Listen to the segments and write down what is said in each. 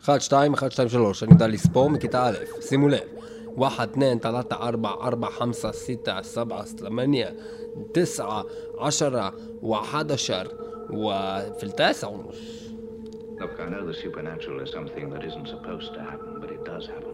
1, 2, 1, 2, 3, אני יודע לספור מכיתה א', שימו לב. 1, 2, 3, 4, 4, 5, 6, 7, 8, 9, 10, 11, وفي التاسع ونص. Look, I know the supernatural is something that isn't supposed to happen, but it does happen.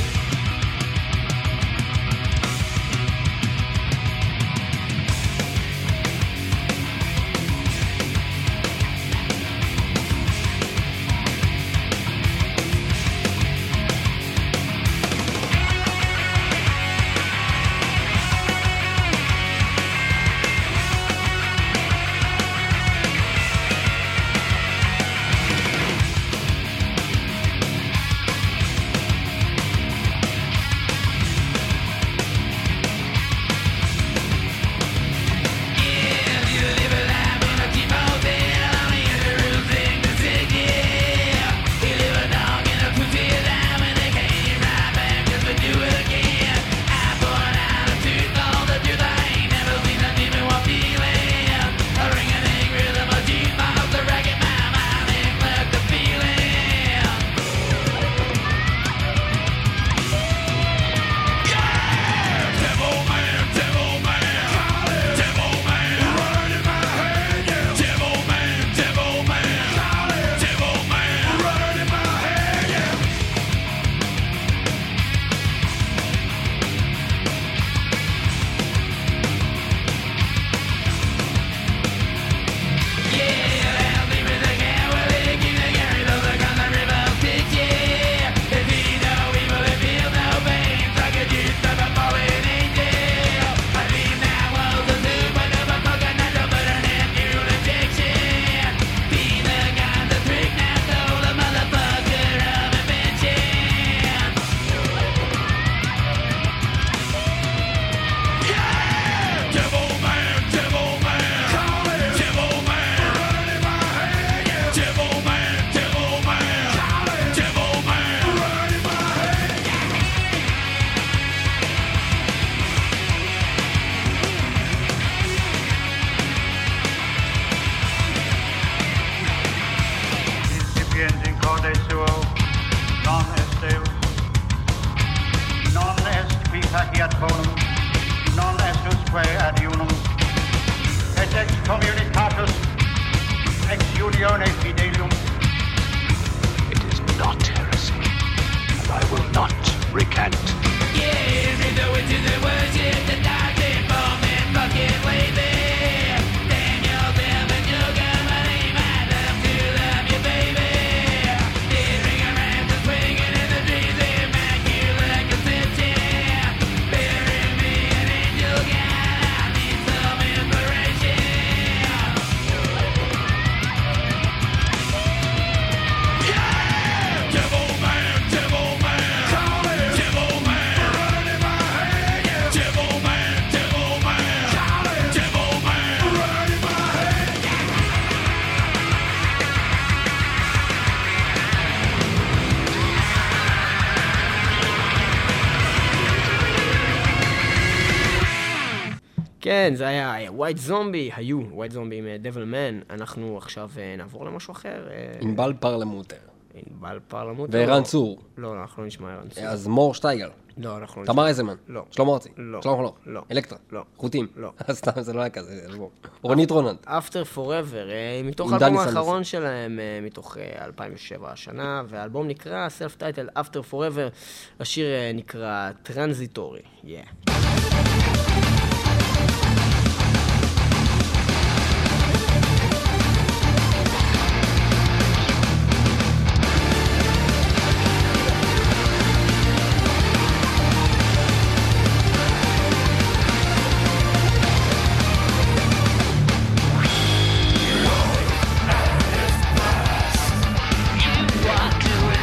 כן, זה היה ווייט זומבי, היו ווייט זומבי עם דבל מן. אנחנו עכשיו נעבור למשהו אחר. ענבל פרלמוטר. ענבל פרלמוטר. וערן צור. לא, אנחנו לא נשמע ערן צור. אז מור שטייגל. לא, אנחנו לא נשמע. תמר איזמן. לא. שלמה ארצי. לא. שלמה חנוך. לא. אלקטרה. לא. חוטים. לא. סתם, זה לא היה כזה. רונית רוננד. After Forever, מתוך עם האלבום דני האחרון שלהם, מתוך 2007 השנה, והאלבום נקרא Self-Titled After Forever, השיר נקרא Transitory. Yeah.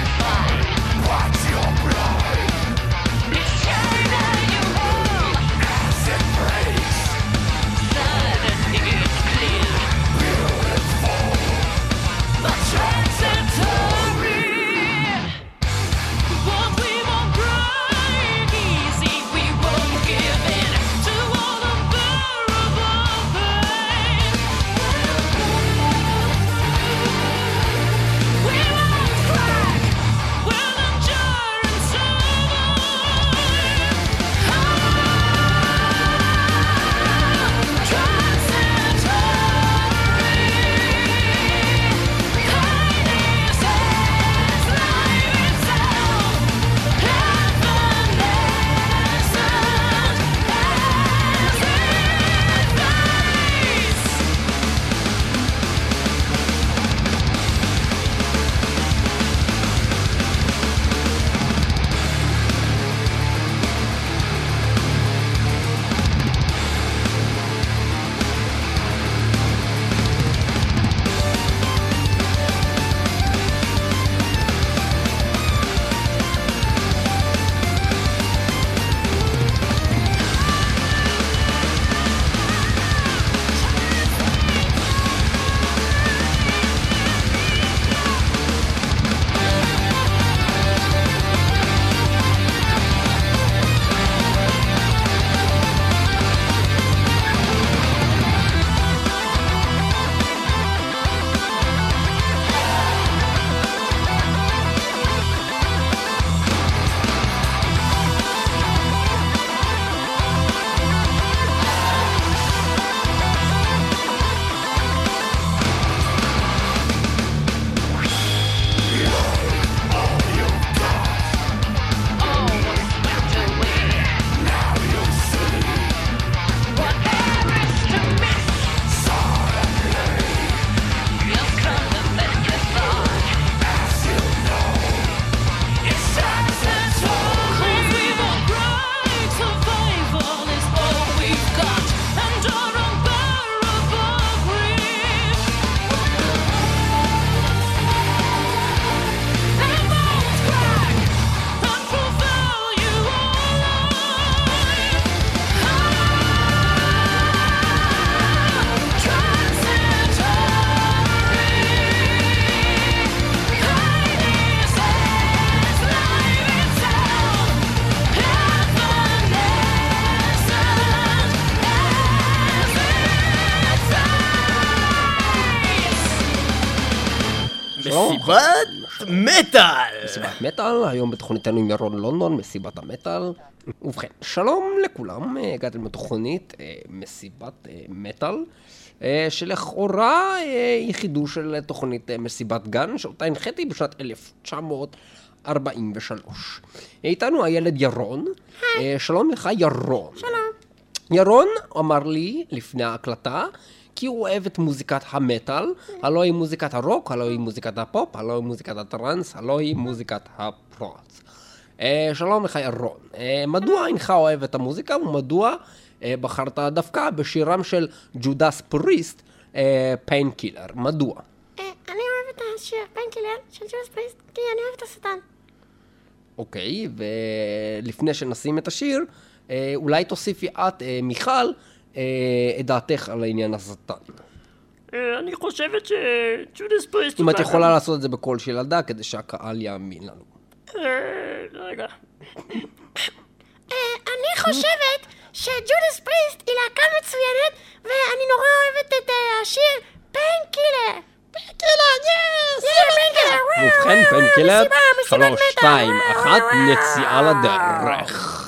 It's China you hold. מסיבת מטאל! מסיבת מטאל, היום בתוכניתנו עם ירון לונדון, מסיבת המטאל. ובכן, שלום לכולם, הגעתם לתוכנית מסיבת מטאל, שלכאורה היא חידוש של תוכנית מסיבת גן, שאותה הנחיתי בשנת 1943. איתנו הילד ירון. שלום לך ירון. שלום. ירון אמר לי לפני ההקלטה, כי הוא אוהב את מוזיקת המטאל, הלא היא מוזיקת הרוק, הלא היא מוזיקת הפופ, הלא היא מוזיקת הטרנס, הלא היא מוזיקת הפרוץ. שלום לך ירון, מדוע אינך אוהב את המוזיקה ומדוע בחרת דווקא בשירם של ג'ודס פריסט, פיינקילר? מדוע? אני אוהב את השיר פיינקילר של ג'ודס פריסט, כי אני אוהב את השטן. אוקיי, ולפני שנשים את השיר, אולי תוסיפי את, מיכל, את דעתך על העניין השטן. אני חושבת שג'ודס פריסט... אם את יכולה לעשות את זה בקול של ילדה, כדי שהקהל יאמין לנו. רגע. אני חושבת שג'ודס פריסט היא להקה מצוינת, ואני נורא אוהבת את השיר פיינקילר. פיינקילר, יס! פיינקילר! ובכן, פיינקילר, 3, 2, 1, נציאה לדרך.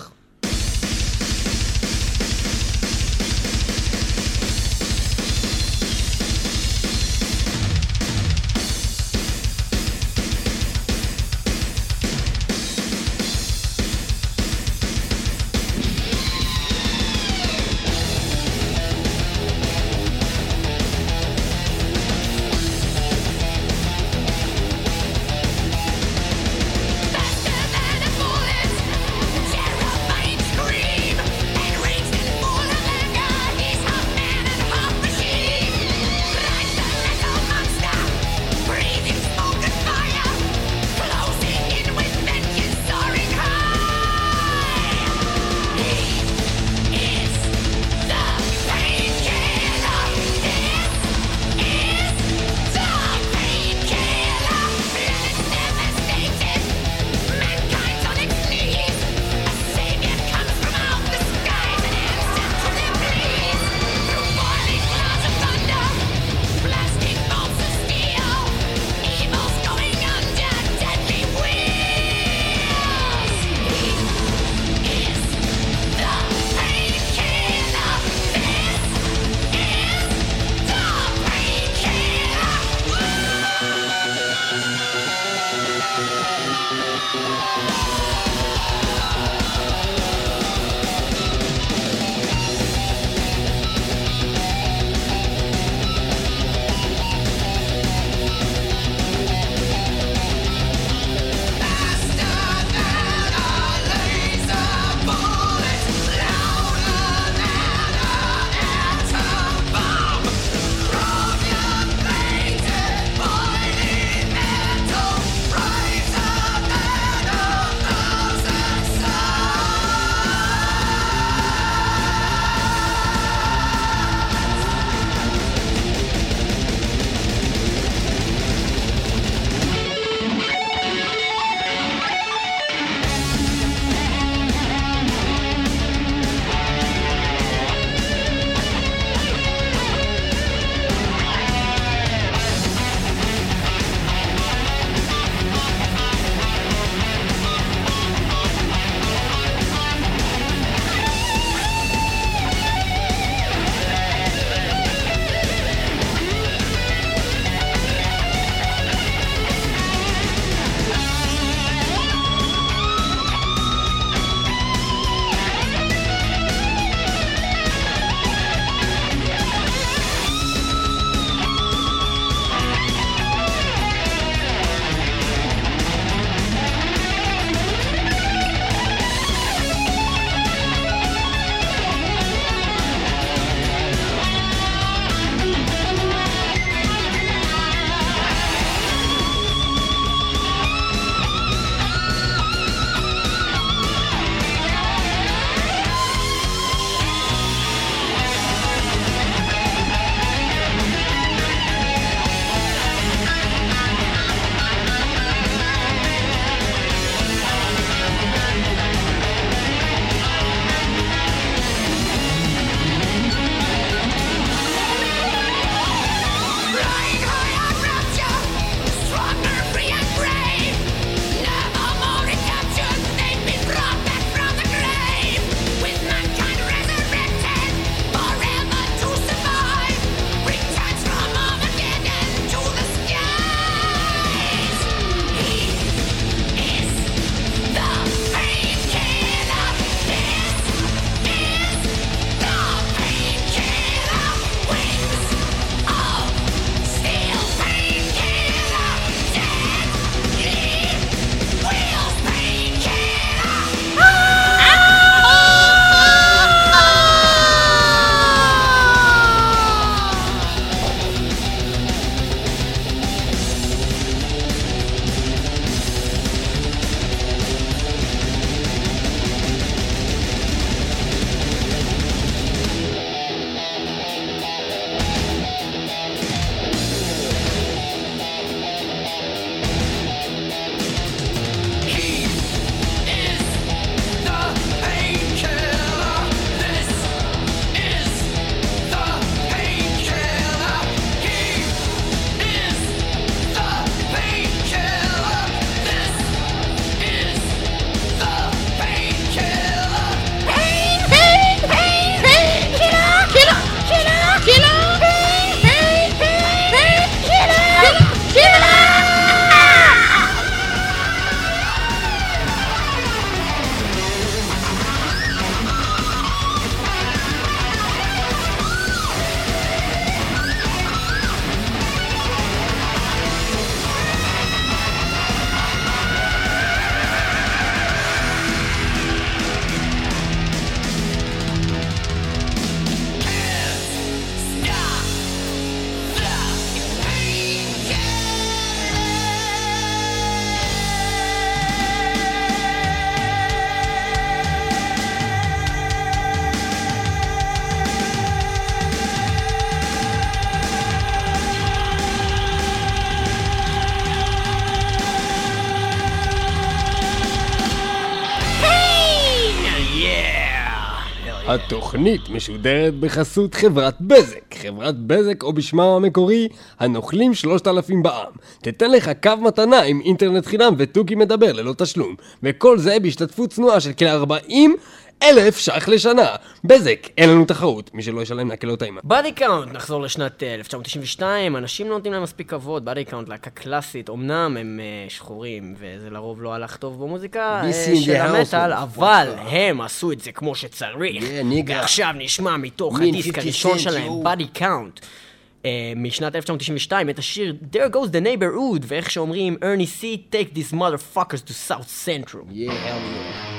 התוכנית משודרת בחסות חברת בזק. חברת בזק, או בשמם המקורי, הנוכלים 3000 בעם. תתן לך קו מתנה עם אינטרנט חינם ותוכי מדבר ללא תשלום. וכל זה בהשתתפות צנועה של כ-40,000 ש"ח לשנה. בזק, אין לנו תחרות. מי שלא ישלם להקל אותה אימה. באדי קאונט, נחזור לשנת 1992, אנשים לא נותנים להם מספיק כבוד. באדי קאונט, להקה קלאסית, אמנם הם שחורים, וזה לרוב לא הלך טוב במוזיקה של המטל, אבל הם עשו את זה כמו שצריך. ועכשיו נשמע מתוך הדיסק הראשון שלהם, באדי קאונט, משנת 1992, את השיר There Goes the Neighborhood, ואיך שאומרים, Ernie C, take these motherfuckers to South Central. Yeah, hell yeah.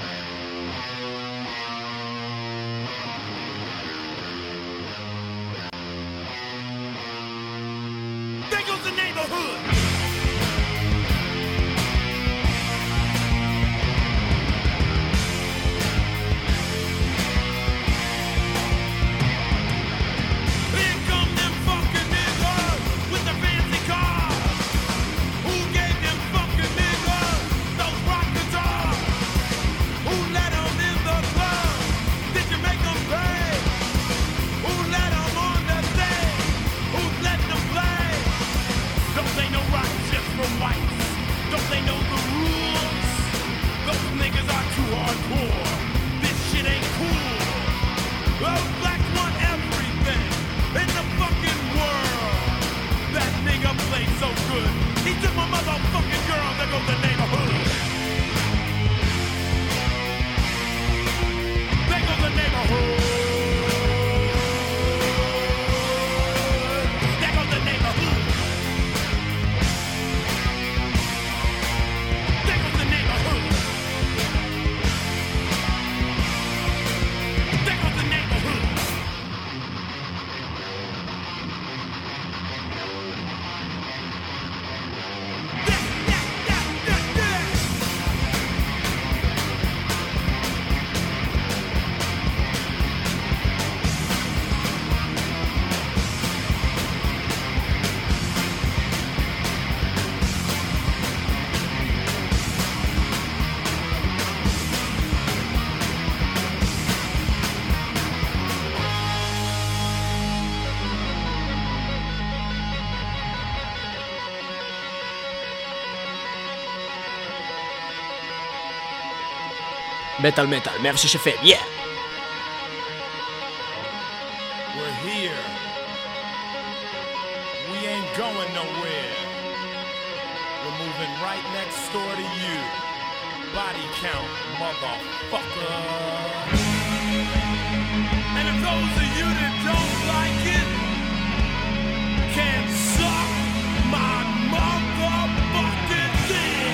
מטל מטל, 106 FM, yeah! We're here. We ain't going nowhere. We're moving right next door to you. Body count, motherfucker. And if those of you that don't like it can suck my motherfucking dick.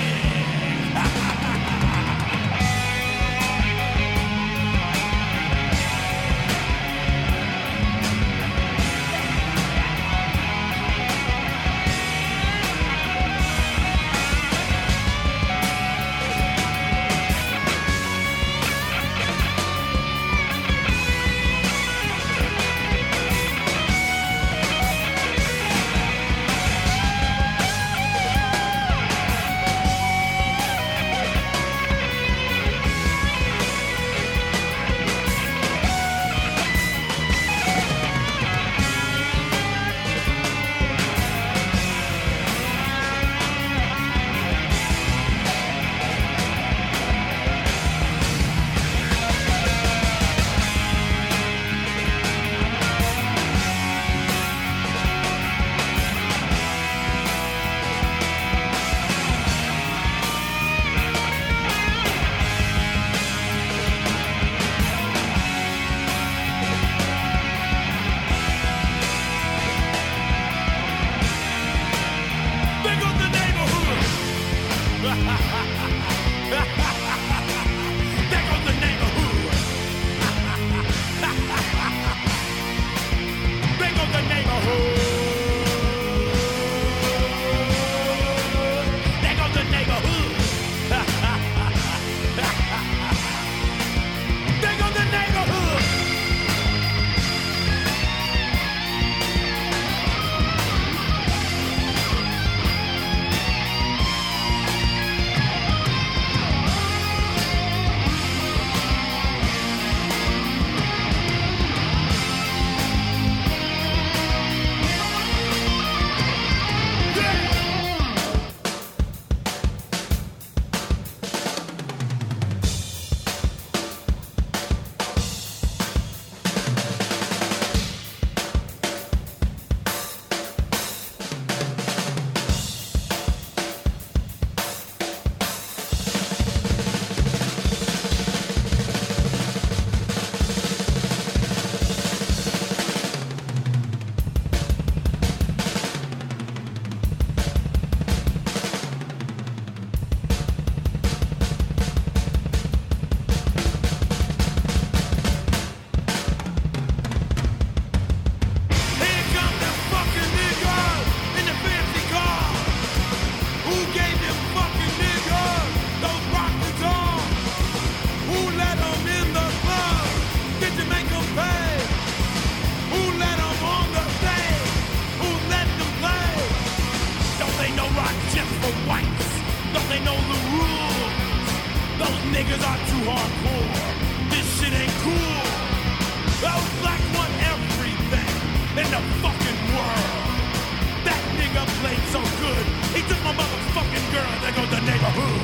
niggas are too hardcore. This shit ain't cool. Those black want everything in the fucking world. That nigga played so good. He took my motherfucking girl. There goes the neighborhood.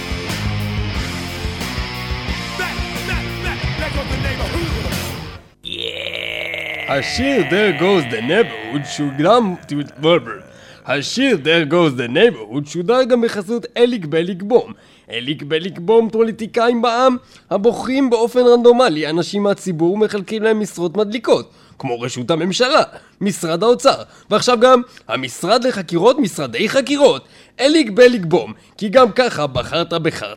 There goes the neighborhood. השיר There Goes the Neighborhood שודר השיר There Goes the Neighborhood שודר גם בחסות אליק בליק בום. אליק בליק בום פוליטיקאים בעם הבוחרים באופן רנדומלי אנשים מהציבור מחלקים להם משרות מדליקות כמו רשות הממשלה, משרד האוצר ועכשיו גם המשרד לחקירות, משרדי חקירות. אליק בליק בום, כי גם ככה בחרת.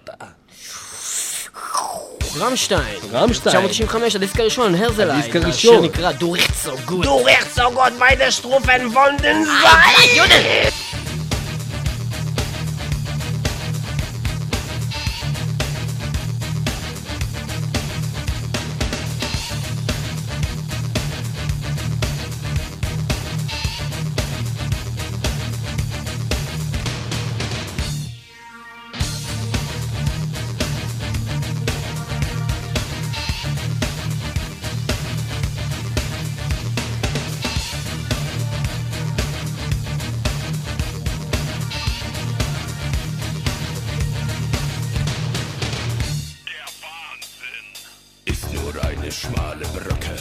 רמשטיין, רמשטיין. 1995, הדיסק הראשון, הרזלייד. הדיסק הראשון. השיר נקרא Du riechst so gut. Du riechst so gut bei der Strophen von den Seiten. Schmale Brücke.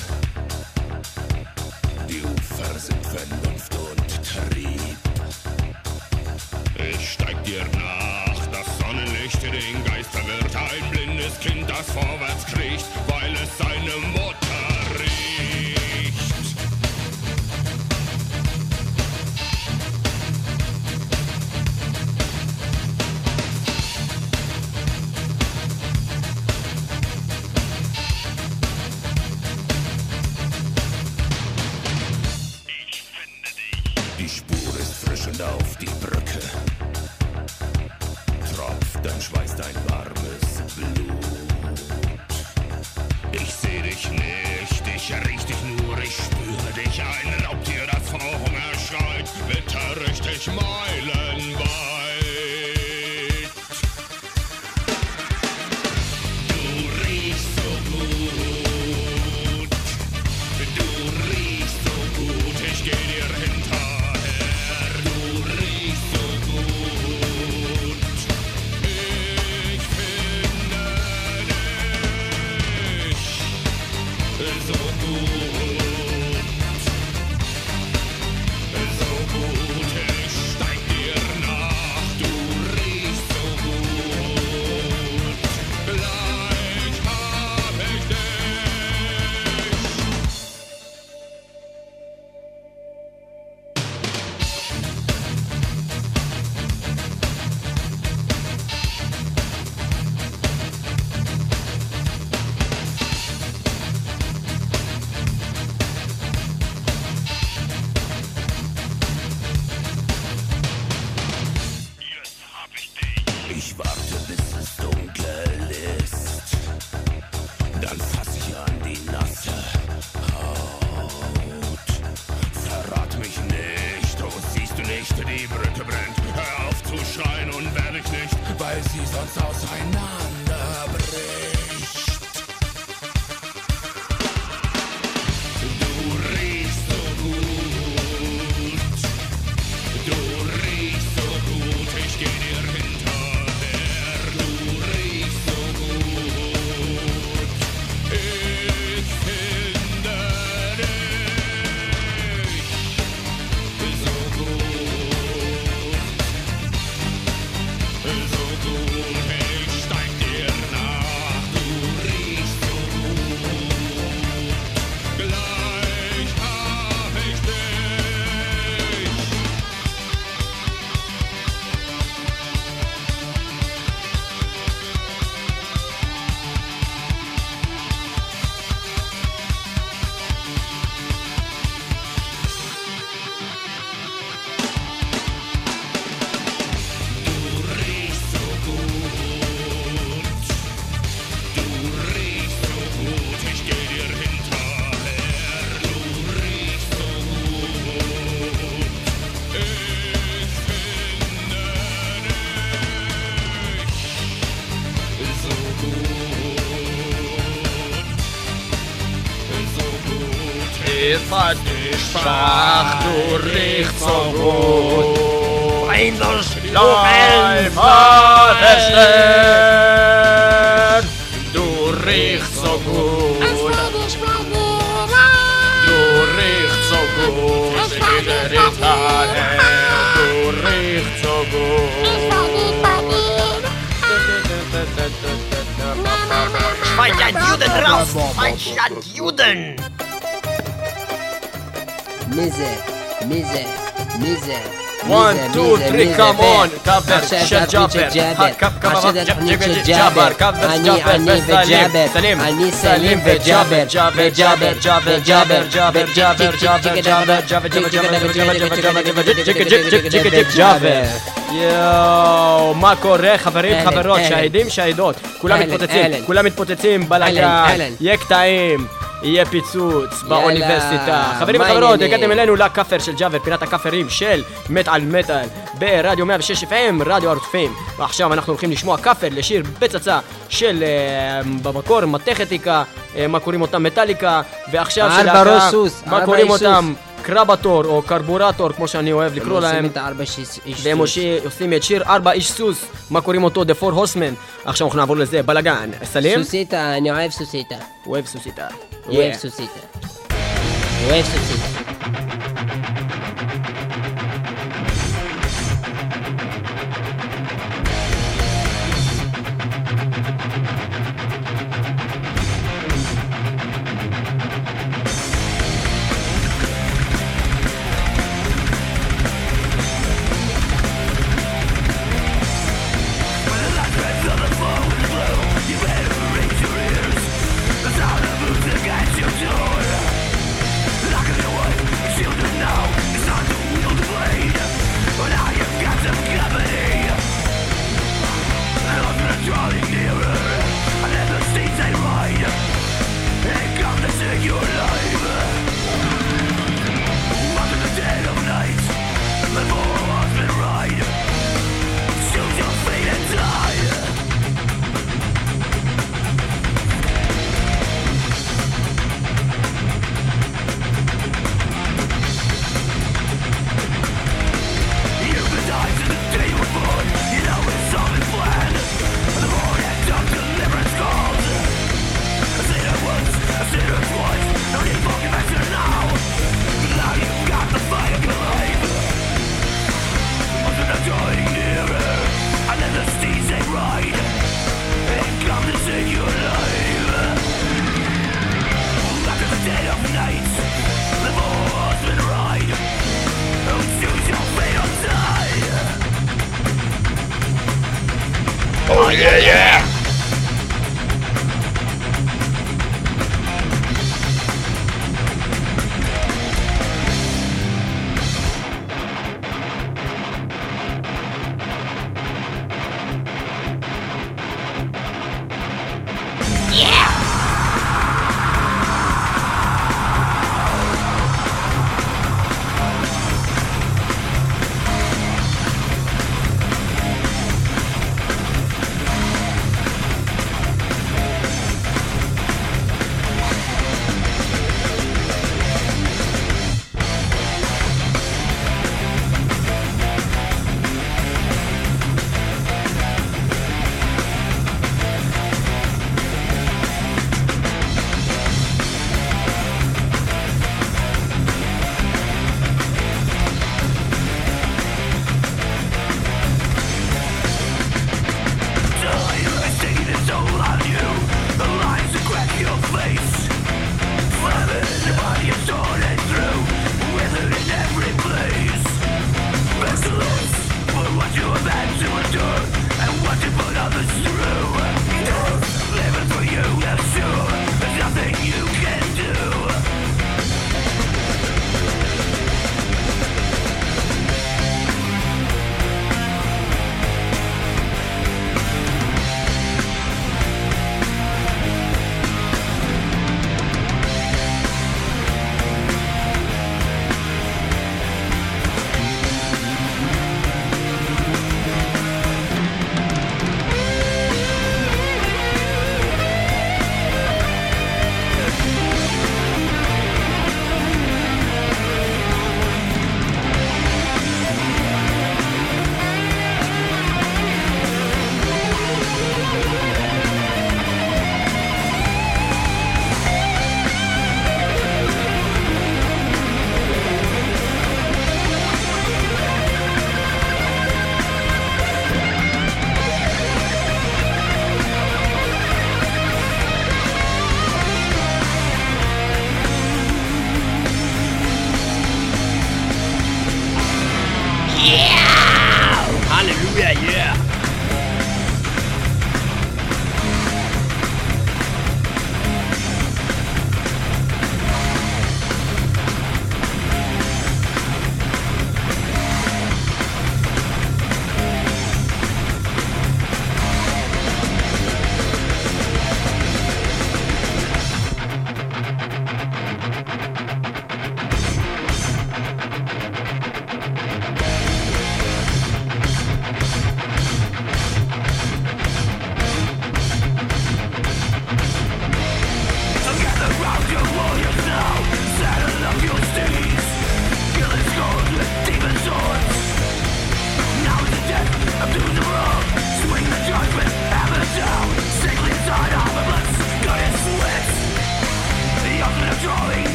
Die Ufer sind Vernunft und Trieb. Ich steig dir nach, das Sonnenlicht den Geist verwirrt. Ein blindes Kind, das vorwärts kriecht, weil es seine Mutter riecht. Auf die Brücke tropft dein Schweiß, dein warmes Blut. Ich seh dich nicht, ich riech dich nur, ich spüre dich. Ein Raubtier, das vor Hunger schreit, bitter richtig meilenweit. Du riechst so gut, du riechst so gut, ich geh dir hinter. Ich warte, bis es dunkel ist, dann fass ich an die nasse Haut. Verrat mich nicht, oh siehst du nicht, die Brücke brennt. Hör auf zu schreien und werde ich nicht, weil sie sonst auseinanderbricht. Du riechst so gut, du riechst so gut, ich geh dir hinter. So gut, ich steig ist halt nicht schwach, du riechst so gut. Bring das Bleib verstehen, du riechst so gut. Du riechst so gut, in der Italien, du riechst so gut. Juden raus! Schweinstadt Juden! Mise. 1, 2, 3, come on! Cover, Chef Jabber, cover, Jabber, cover, Jabber, Salim, Jabber, Jabber. יואו, מה קורה חברים, חברות, שהידים, שהידות, כולם מתפוצצים בלגן, יהיה קטעים, יהיה פיצוץ באוניברסיטה. חברים וחברות, הגעתם אלינו לכפר של ג'אבר, פינת הכפרים של מטל ברדיו 106 FM, רדיו ערוץ-FM. ועכשיו אנחנו הולכים לשמוע כפר לשיר בצצה של במקור מתכתיקה, מה קוראים אותם מטליקה, ועכשיו של להקה, מה קוראים אותם קרבטור או קרבורטור, כמו שאני אוהב לקרוא להם, והם עושים את שיר 4 איש סוס, מה קוראים אותו? The Four Horsemen. עכשיו אנחנו נעבור לזה, בלגן. סלים? סוסיטה, אני אוהב סוסיטה. אוהב סוסיטה. אוהב סוסיטה. אוהב סוסיטה.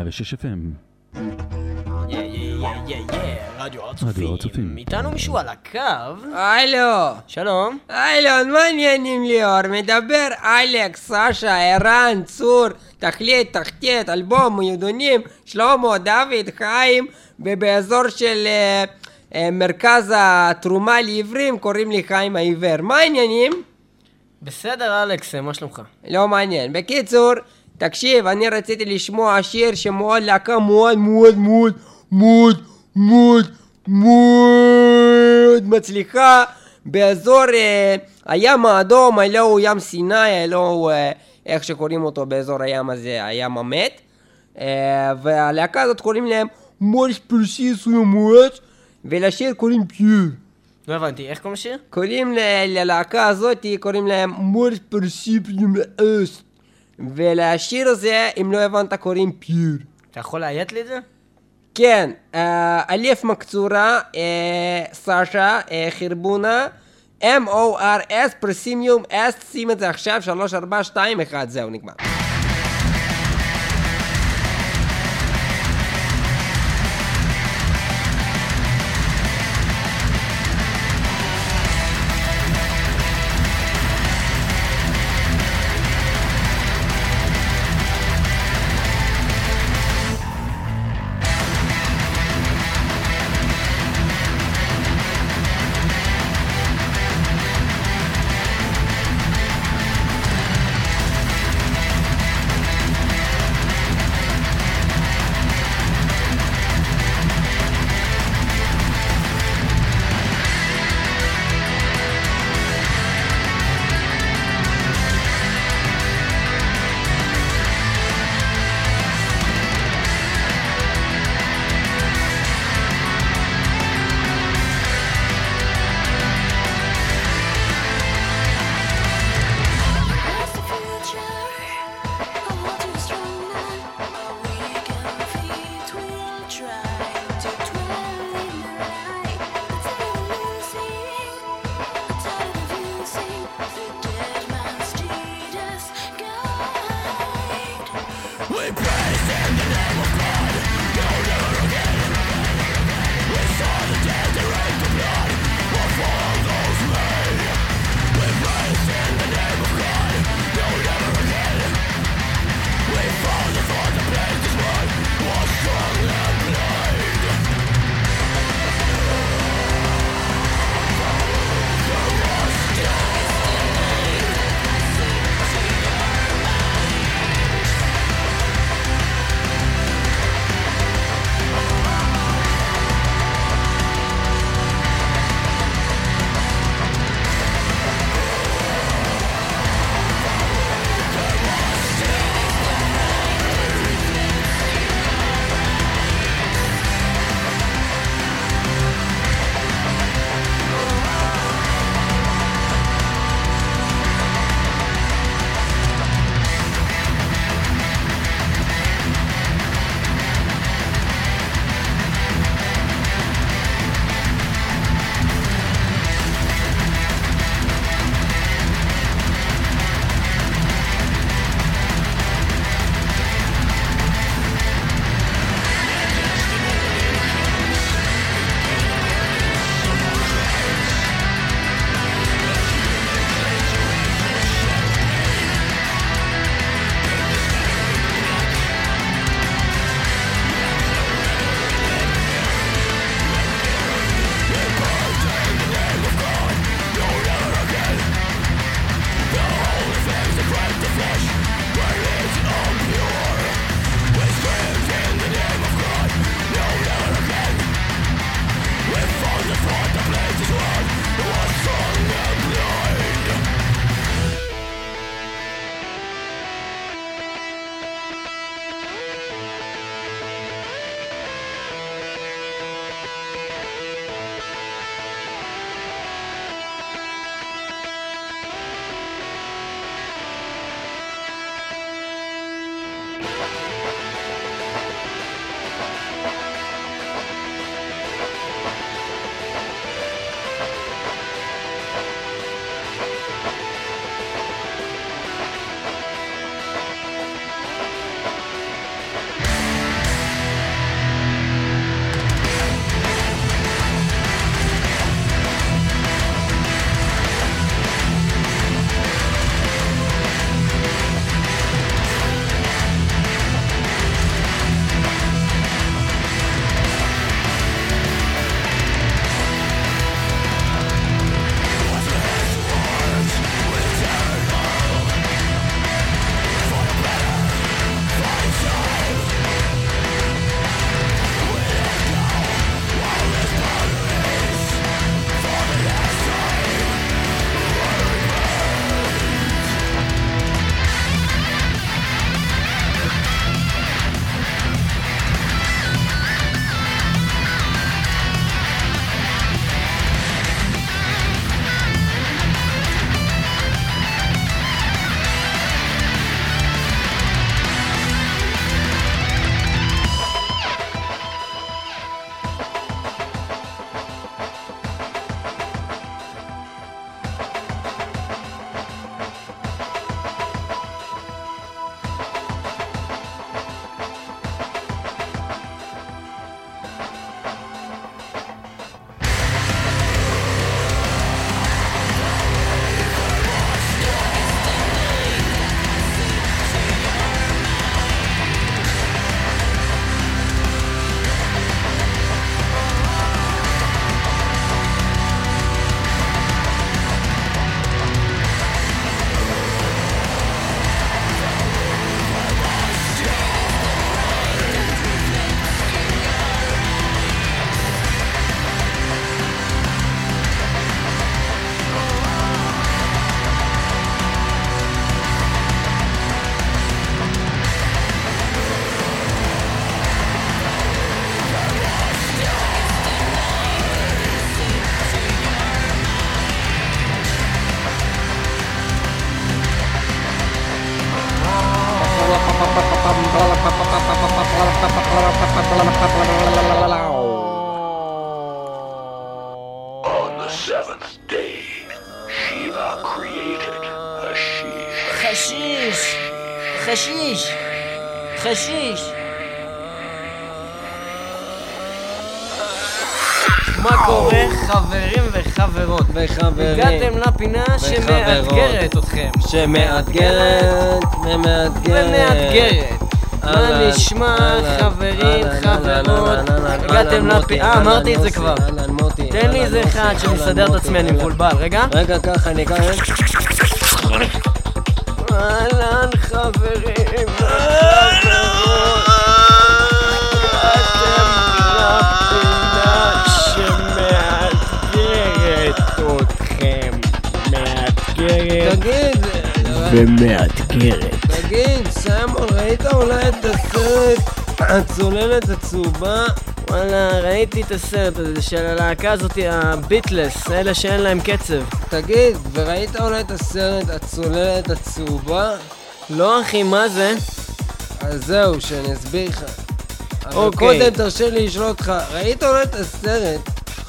106 FM. רדיו רדיו הר צופים. איתנו מישהו על הקו. הלו. שלום. אילון, מה עניינים ליאור? מדבר אלכס, סשה, ערן, צור, תחליט, תחתית, אלבום, מועדונים, שלמה, דוד, חיים, ובאזור של מרכז התרומה לעיוורים קוראים לי חיים העיוור. מה העניינים? בסדר אלכס, מה שלומך? לא מעניין. בקיצור, תקשיב, אני רציתי לשמוע שיר שמאוד להקה מאוד מאוד מאוד מאוד מאוד מאוד מצליחה באזור הים האדום, הלא הוא ים סיני, הלא הוא איך שקוראים אותו באזור הים הזה, הים המת, והלהקה הזאת קוראים להם מורס פרסיס ומואט, ולשיר קוראים פיור. לא הבנתי, איך קוראים לשיר? קוראים ללהקה הזאת, קוראים להם מורס פרסיס ומואט, ולשיר הזה, אם לא הבנת, קוראים פיור. אתה יכול להיית לי את זה? כן, אלף מקצורה, סשה, חרבונה, M-O-R-S, פרסימיום, S, שים את זה עכשיו, 3, 4, 2, 1, זהו, נגמר. On the seventh day, Shiva created Hashish. חשיש. מה קורה חברים וחברות? הגעתם לפינה שמאתגרת אתכם. ומאתגרת. מה נשמע חברים, חברות? הגעתם לפינה, אמרתי את זה כבר. תן לי איזה אחד שמסדר את עצמי, אני מבולבל. רגע ככה, אני אקרא. אהלן חברים וחברות. ומאתגרת. תגיד, סיימון, ראית אולי את הסרט הצוללת הצהובה? וואלה, ראיתי את הסרט הזה של הלהקה הזאת, הביטלס, אלה שאין להם קצב. תגיד, וראית אולי את הסרט הצוללת הצהובה? לא אחי, מה זה? אז זהו, שאני אסביר לך. אבל קודם תרשה לי לשאול אותך, ראית אולי את הסרט?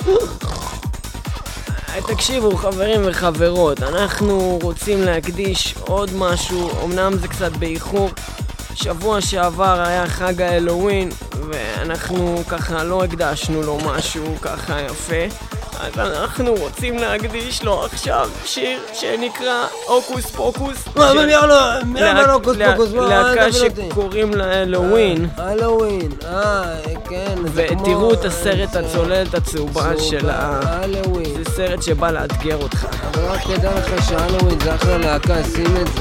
תקשיבו חברים וחברות, אנחנו רוצים להקדיש עוד משהו, אמנם זה קצת באיחור. שבוע שעבר היה חג האלווין ואנחנו ככה לא הקדשנו לו משהו ככה יפה, אז אנחנו רוצים להקדיש לו עכשיו שיר שנקרא הוקוס פוקוס. להקה שקוראים לה אלווין. אלווין, כן. ותראו את הסרט הצוללת הצהובה של האלווין. זה סרט שבא לאתגר אותך. אבל רק תדע לך שאלווין זה אחלה להקה, שים את זה.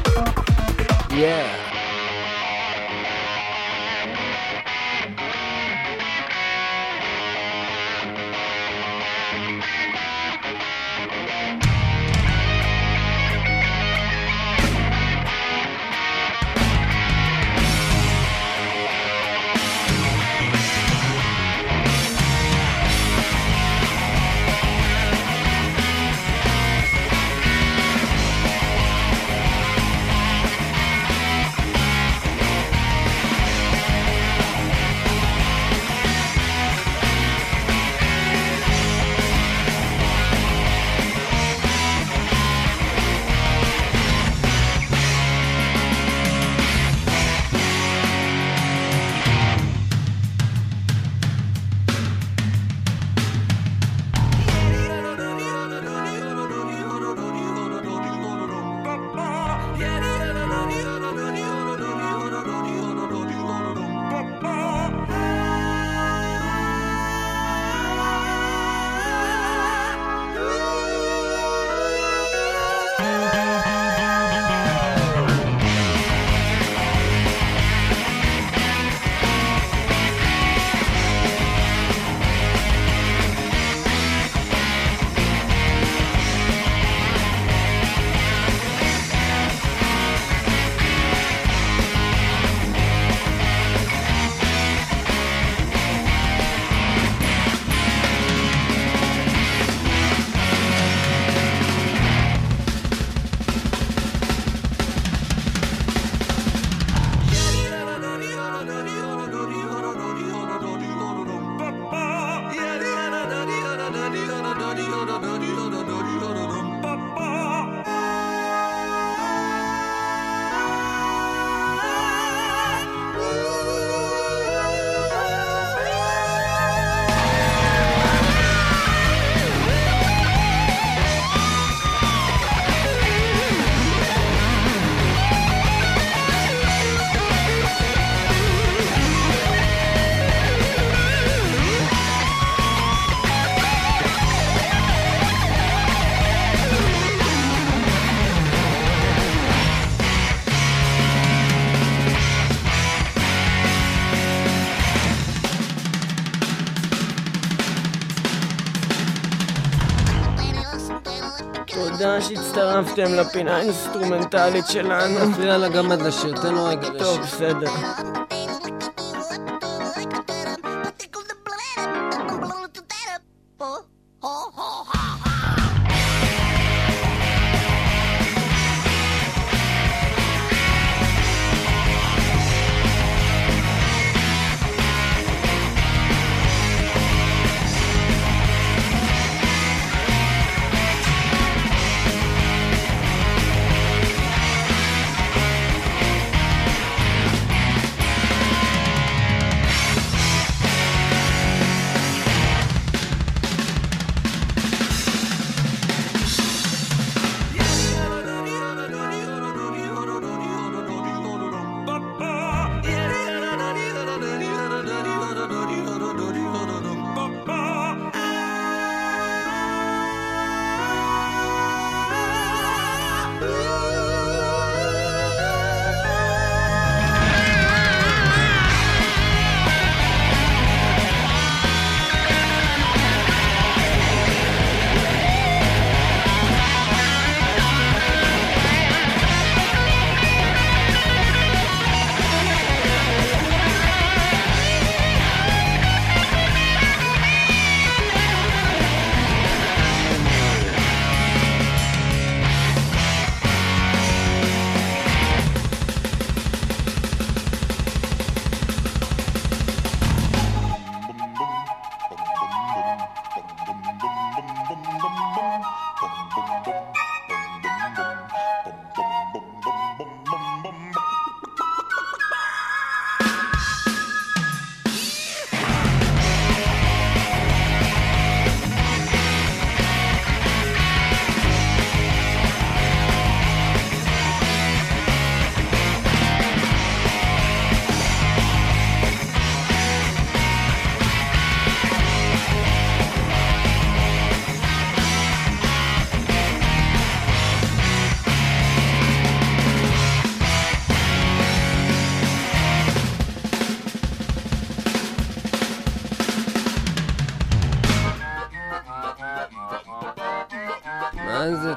תודה שהצטרפתם לפינה האינסטרומנטלית שלנו. נפריע לה גם עד לשיר, תן לו רגע לשיר. טוב, בסדר.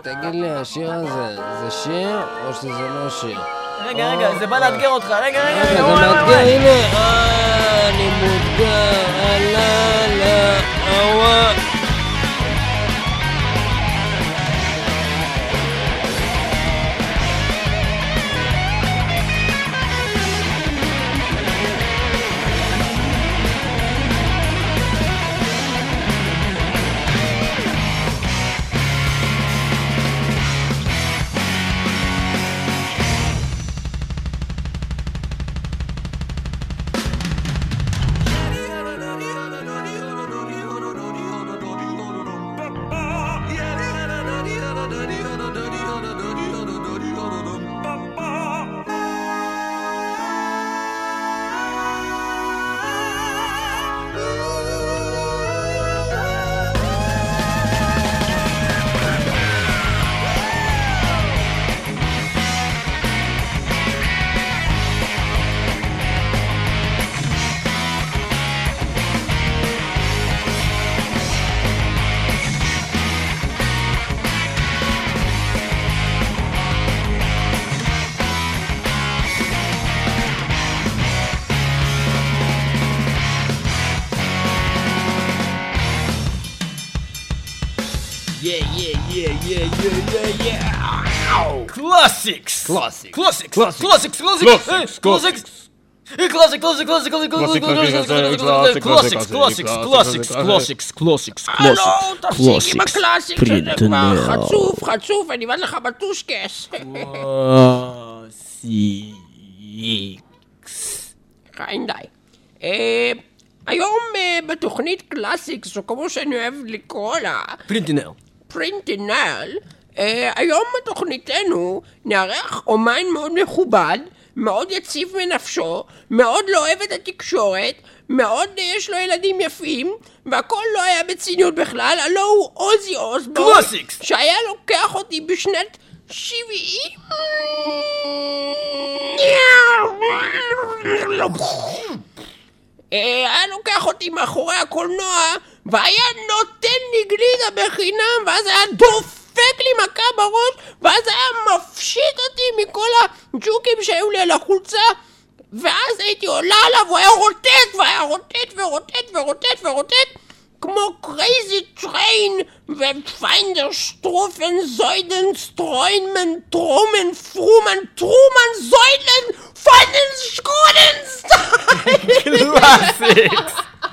תגיד לי, השיר הזה, זה שיר או שזה לא שיר? רגע, זה בא לאתגר אותך, רגע, זה מאתגר, הנה, אני מותגר, אווה. Classics. חצוף, אני בא לך בטושקס. חיים די. היום בתוכנית קלאסיקס, או כמו שאני אוהב לקרוא לה, פרינטינל, היום בתוכניתנו נערך אומן מאוד מכובד, מאוד יציב מנפשו, מאוד לא אוהב את התקשורת, מאוד יש לו ילדים יפים, והכל לא היה בציניות בכלל, הלא הוא עוזי אוסבורן, שהיה לוקח אותי בשנת 70. היה לוקח אותי מאחורי הקולנוע, והיה נותן לי גלידה בחינם, ואז היה דופק לי מכה בראש, ואז היה מפשיט אותי מכל הג'וקים שהיו לי על החולצה, ואז הייתי עולה עליו, הוא היה רוטט, והיה רוטט ורוטט ורוטט ורוטט, כמו קרייזי טריין, ופיינדר שטרופן, זוידן, סטרוינמן, טרומן, פרומן, טרומן, זוידן, פיינדן, שקרונן, סטיין! קלאסיקס!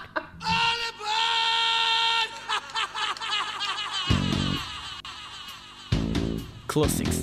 קלאסיקס.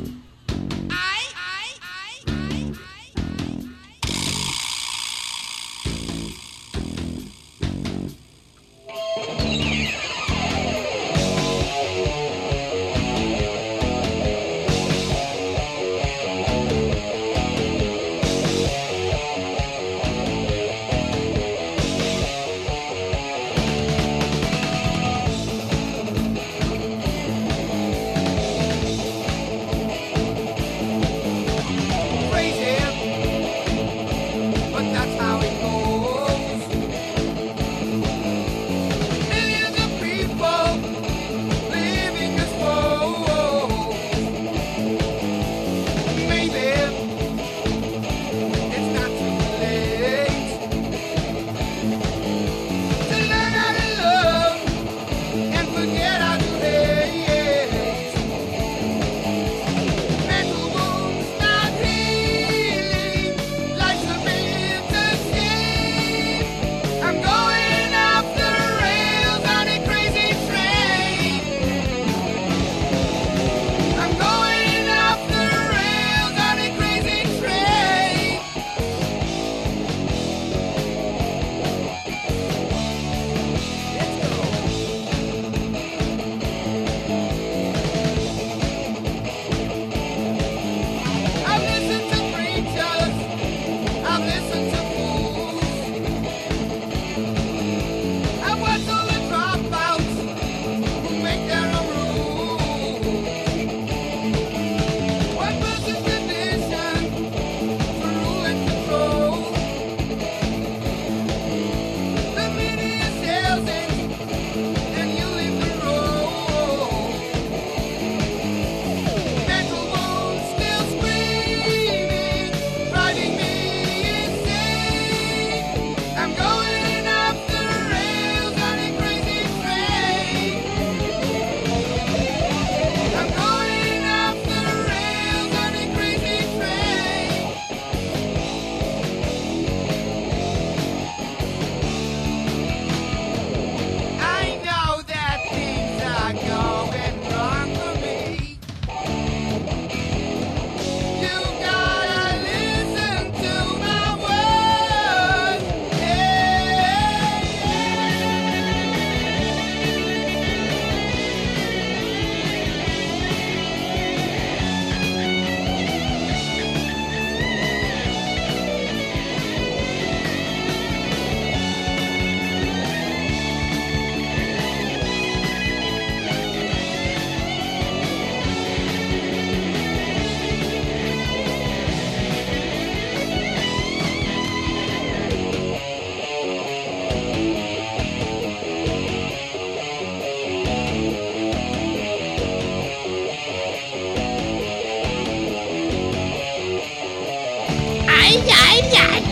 העניין.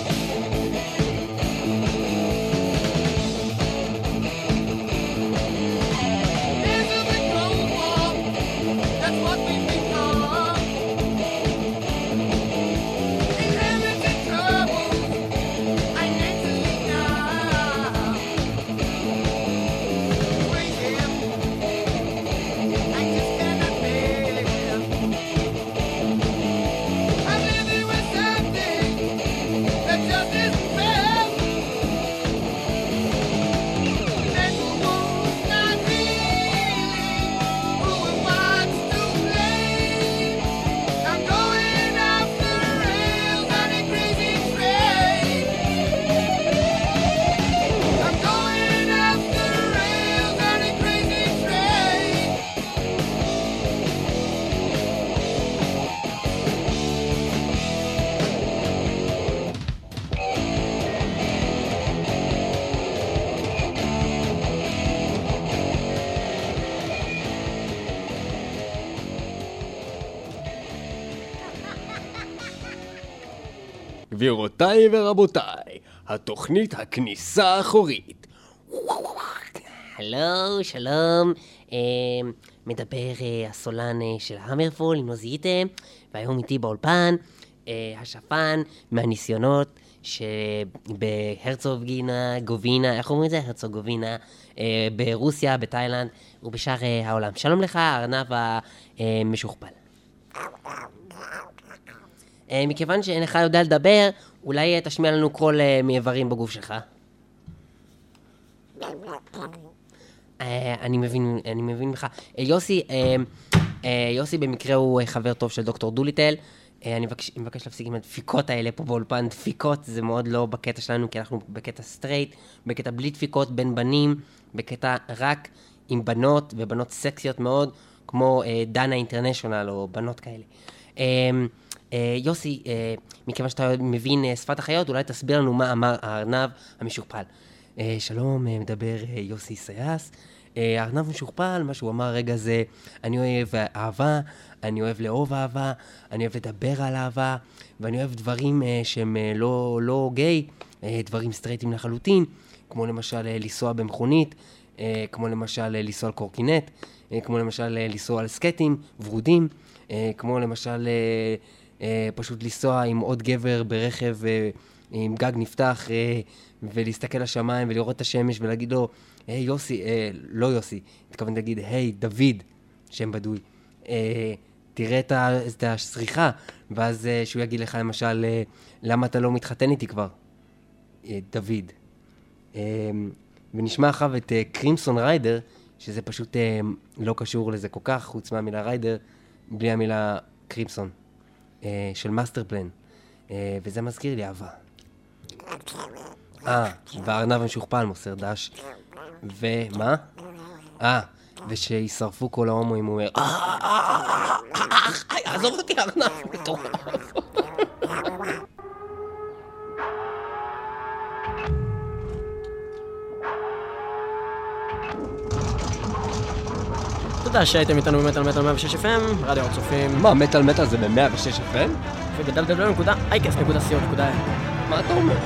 גבירותיי ורבותיי, התוכנית הכניסה האחורית. הלו, שלום, מדבר הסולן של המרפול, עם נוזיתם, והיום איתי באולפן, השפן מהניסיונות שבהרצוגינה, גובינה, איך אומרים את זה? הרצוגובינה, ברוסיה, בתאילנד ובשאר העולם. שלום לך, ארנב המשוכפל. מכיוון שאינך יודע לדבר, אולי תשמיע לנו קול מאיברים בגוף שלך. אני מבין לך. יוסי במקרה הוא חבר טוב של דוקטור דוליטל. אני מבקש להפסיק עם הדפיקות האלה פה באולפן. דפיקות זה מאוד לא בקטע שלנו, כי אנחנו בקטע סטרייט, בקטע בלי דפיקות בין בנים, בקטע רק עם בנות, ובנות סקסיות מאוד, כמו דנה אינטרנשיונל או בנות כאלה. יוסי, מכיוון שאתה מבין שפת החיות, אולי תסביר לנו מה אמר הארנב המשוכפל. שלום, מדבר יוסי סייס. הארנב המשוכפל, מה שהוא אמר רגע זה, אני אוהב אהבה, אני אוהב לאהוב אהבה, אני אוהב לדבר על אהבה, ואני אוהב דברים שהם לא גיי, דברים סטרייטים לחלוטין, כמו למשל לנסוע במכונית, כמו למשל לנסוע על קורקינט, כמו למשל לנסוע על סקטים ורודים, כמו למשל פשוט לנסוע עם עוד גבר ברכב עם גג נפתח ולהסתכל לשמיים ולראות את השמש ולהגיד לו, היי יוסי, לא יוסי, התכוון להגיד, היי דוד, שם בדוי, תראה את השריחה, ואז שהוא יגיד לך למשל, למה אתה לא מתחתן איתי כבר? דוד. ונשמע אחריו את קרימסון ריידר, שזה פשוט לא קשור לזה כל כך, חוץ מהמילה ריידר, בלי המילה קרימסון, של מאסטר פלן. וזה מזכיר לי אהבה. והארנב המשוכפל מוסר דש. ומה? ושישרפו כל ההומואים, הוא אומר, עזוב אותי ארנב, מטורף. תודה שהייתם איתנו במטל 106 FM, רדיו הצופים. מה, מטל זה ב-106 FM? ובדלדלדל.אייקס.co.il. מה אתה אומר?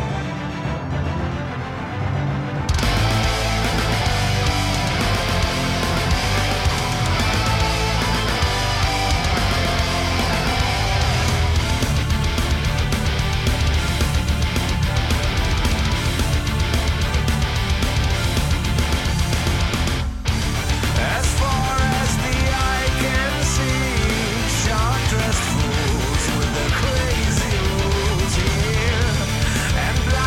And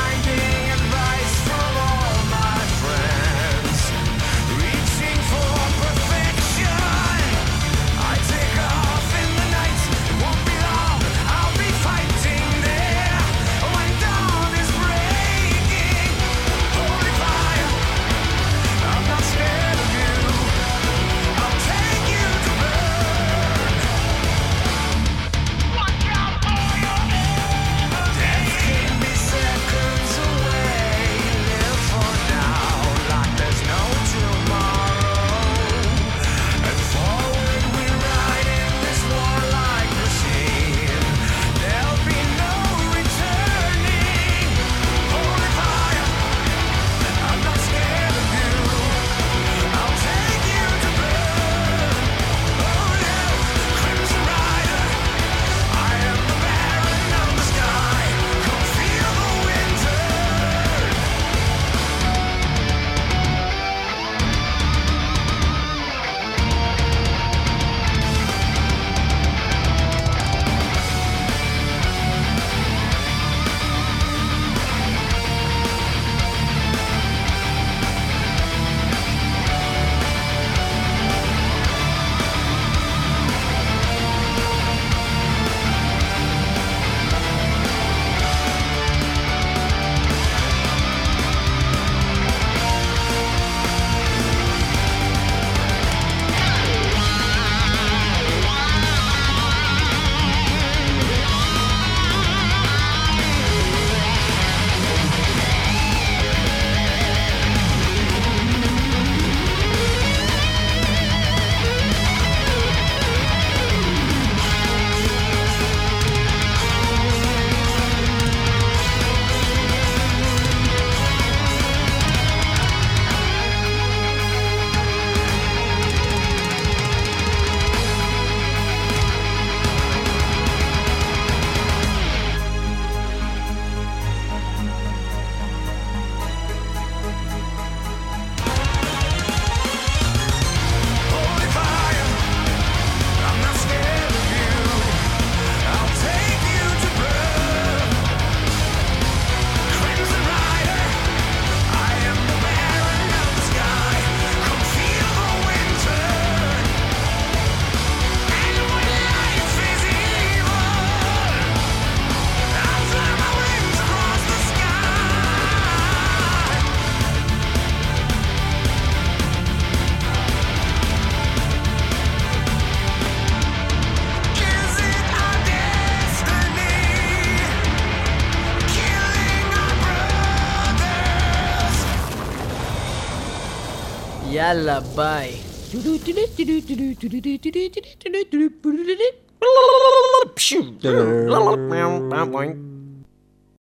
יאללה, ביי. פשוט.